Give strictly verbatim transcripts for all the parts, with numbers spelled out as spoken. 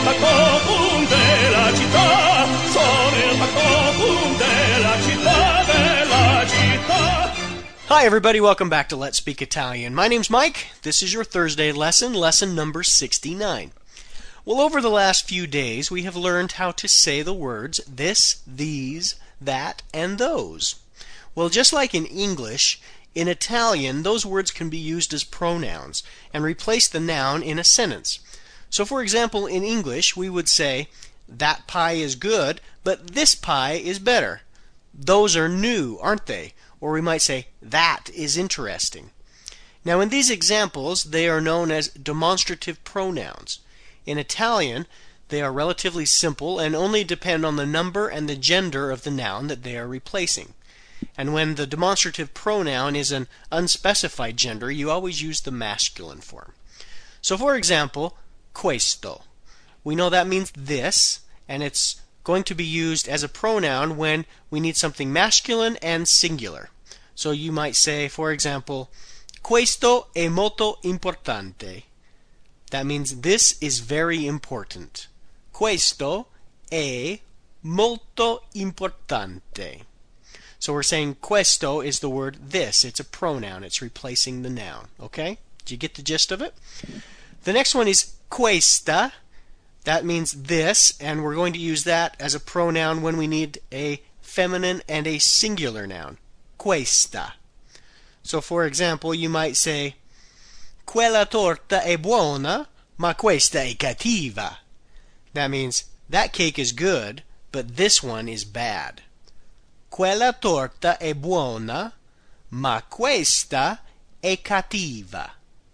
facopum della città, sono il facopum della città, della città. Hi everybody, welcome back to Let's Speak Italian. My name's Mike. This is your Thursday lesson, lesson number sixty-nine. Well, over the last few days, we have learned how to say the words this, these, that, and those. Well, just like in English, in Italian, those words can be used as pronouns and replace the noun in a sentence. So, for example, in English, we would say, that pie is good, but this pie is better. Those are new, aren't they? Or we might say, that is interesting. Now, in these examples, they are known as demonstrative pronouns. In Italian, they are relatively simple and only depend on the number and the gender of the noun that they are replacing. And when the demonstrative pronoun is an unspecified gender, you always use the masculine form. So, for example, questo. We know that means this, and it's going to be used as a pronoun when we need something masculine and singular. So you might say, for example, questo è molto importante. That means this is very important. Questo è molto importante. So we're saying questo is the word this. It's a pronoun. It's replacing the noun. Okay? Do you get the gist of it? The next one is questa. That means this, and we're going to use that as a pronoun when we need a feminine and a singular noun. Questa. So for example, you might say, quella torta è buona, ma questa è cattiva. That means, that cake is good, but this one is bad. Quella torta è buona, ma questa è cattiva.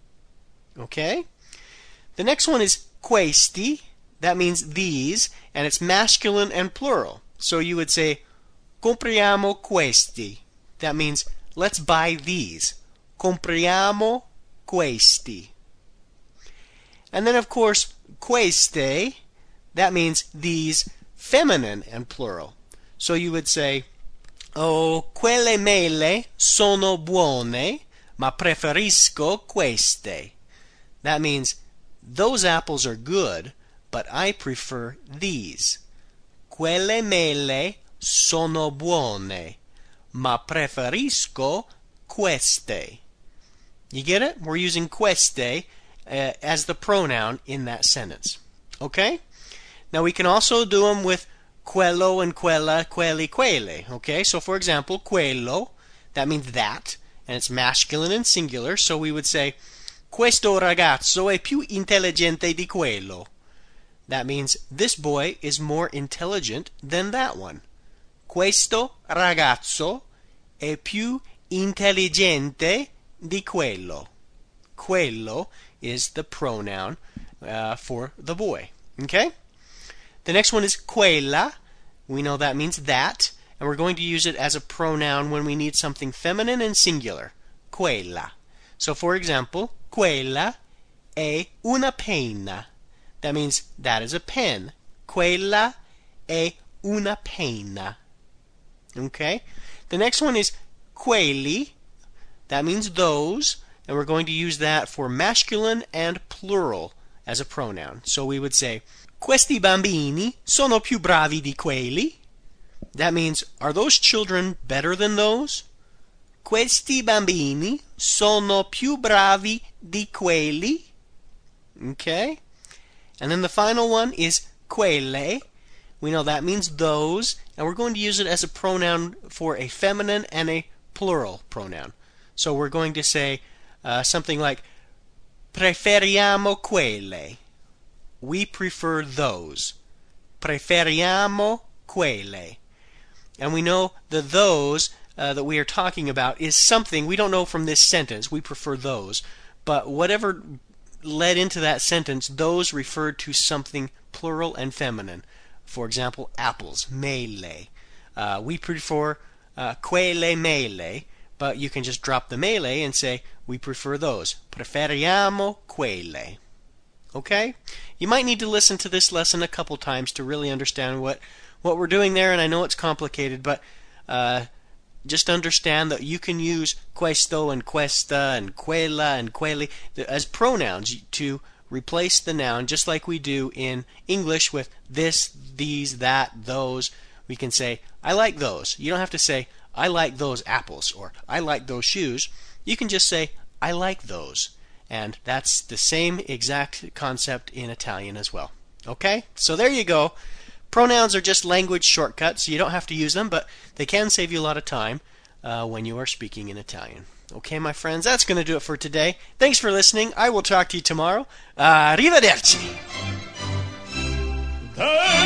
Okay? The next one is questi. That means these, and it's masculine and plural. So you would say, compriamo questi. That means, let's buy these. Compriamo questi. And then, of course, queste, that means these, feminine and plural. So you would say, oh, quelle mele sono buone, ma preferisco queste. That means, those apples are good, but I prefer these. Quelle mele sono buone, ma preferisco queste. You get it? We're using queste uh, as the pronoun in that sentence. Okay? Now we can also do them with quello and quella, quelli, quelle. Okay? So for example, quello, that means that, and it's masculine and singular, so we would say, questo ragazzo è più intelligente di quello. That means this boy is more intelligent than that one. Questo ragazzo è più intelligente di quello. Quello is the pronoun uh, for the boy. Okay? The next one is quella. We know that means that, and we're going to use it as a pronoun when we need something feminine and singular. Quella. So for example, quella è una penna. That means that is a pen. Quella è una penna. Okay? The next one is quelli. That means those, and we're going to use that for masculine and plural as a pronoun. So we would say, questi bambini sono più bravi di quelli. That means, are those children better than those? Questi bambini sono più bravi di quelli. Okay? And then the final one is quelle. We know that means those, and we're going to use it as a pronoun for a feminine and a plural pronoun. So we're going to say uh, something like, preferiamo quelle. We prefer those. Preferiamo quelle. And we know the those uh, that we are talking about is something, we don't know from this sentence, we prefer those, but whatever led into that sentence, those referred to something plural and feminine. For example, apples, mele. Uh, we prefer uh, quelle mele, but you can just drop the mele and say, we prefer those. Preferiamo quelle. Okay? You might need to listen to this lesson a couple times to really understand what, what we're doing there, and I know it's complicated, but uh, just understand that you can use questo and questa and quella and quelli as pronouns to replace the noun just like we do in English with this, these, that, those. We can say, I like those. You don't have to say, I like those apples or I like those shoes. You can just say, I like those. And that's the same exact concept in Italian as well. Okay? So there you go. Pronouns are just language shortcuts. You don't have to use them, but they can save you a lot of time uh, when you are speaking in Italian. Okay, my friends, that's going to do it for today. Thanks for listening. I will talk to you tomorrow. Arrivederci.